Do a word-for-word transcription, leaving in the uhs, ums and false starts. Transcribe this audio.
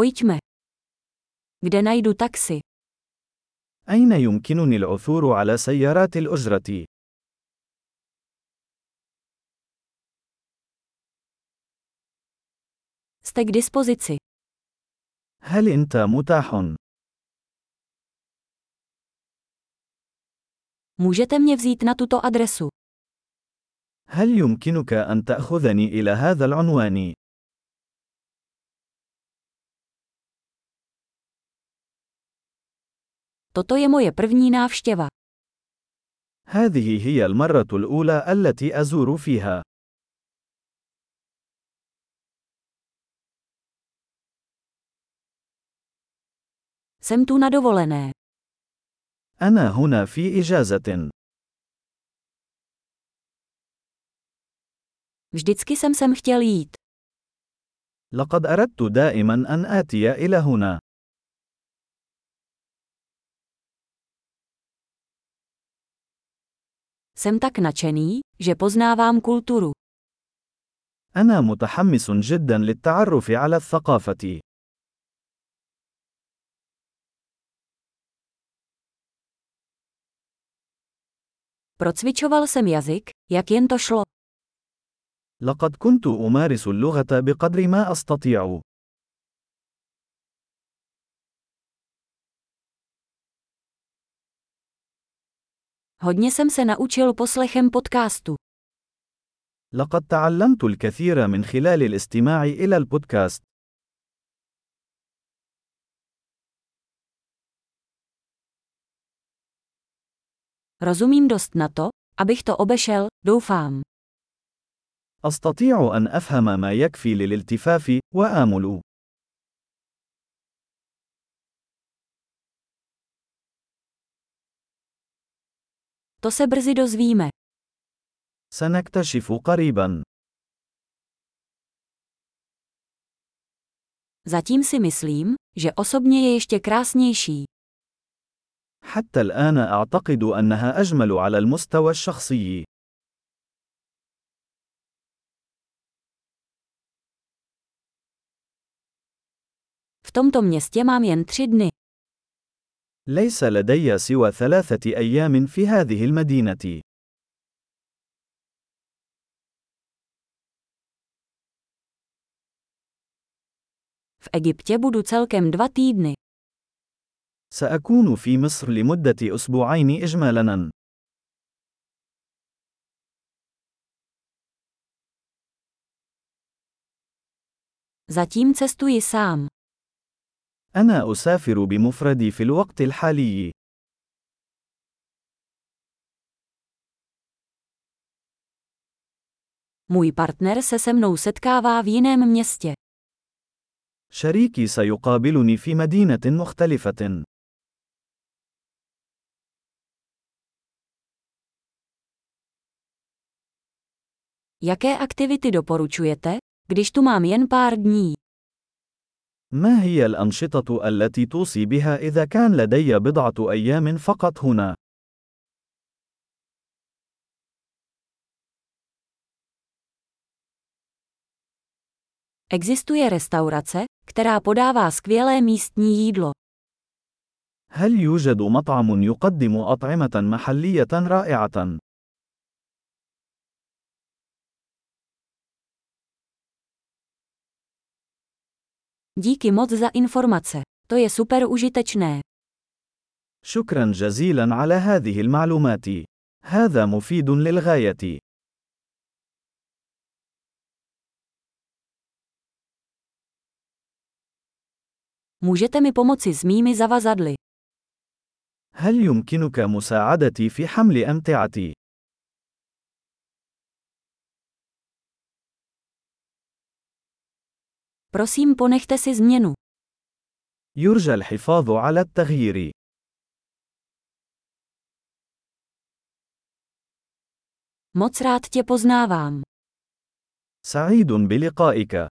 Pojďme. Kde najdu taxi? أين يمكنني العثور على سيارات الأجرة؟ Jste k dispozici. هل أنت متاح؟ Můžete mě vzít na tuto adresu. هل يمكنك أن تأخذني إلى هذا العنوان؟ Toto je moje první návštěva. هذه هي المرة الأولى التي أزور فيها. Jsem tu na dovolené. أنا هنا في إجازة. Vždycky jsem sem chtěl jít. لقد أردت دائما أن آتي إلى هنا. Jsem tak nadšený, že poznávám kulturu. أنا متحمس جدا للتعرف على الثقافة. Procvičoval jsem jazyk, jak jen to šlo. لقد كنت أمارس اللغة بقدر ما أستطيع. Hodně jsem se naučil poslechem podcastu. لقد تعلمت الكثير من خلال الاستماع إلى البودكاست. Rozumím dost na to, abych to obešel, doufám. أستطيع أن أفهم ما يكفي للالتفاف، وآمل. To se brzy dozvíme. سنكتشف قريبا. Zatím si myslím, že osobně je ještě krásnější. حتى الآن أعتقد أنها أجمل على المستوى الشخصي. V tomto městě mám jen tři dny. ليس لدي سوى ثلاثة أيام في هذه المدينة. V Egyptě budu celkem dva týdny. سأكون في مصر لمدة أسبوعين إجمالاً. Zatím cestuji sám. أنا أسافر بمفردي في الوقت الحالي. Můj partner se se mnou setkává v jiném městě. شريكي سيقابلني في مدينة مختلفة. Jaké aktivity doporučujete, když tu mám jen pár dní? ما هي الأنشطة التي توصي بها إذا كان لدي بضعة أيام فقط هنا؟ Existuje restaurace, která podává skvělé místní jídlo. هل يوجد مطعم يقدم أطعمة محلية رائعة؟ Díky moc za informace. To je super užitečné. شكرا جزيلا على هذه المعلومات. هذا مفيد للغاية. Můžete mi pomoci s mými zavazadly. هل يمكنك مساعدتي في حمل أمتعتي؟ Prosím, ponechte si změnu. يرجى الحفاظ على التغيير. Moc rád tě poznávám. سعيد بلقائك.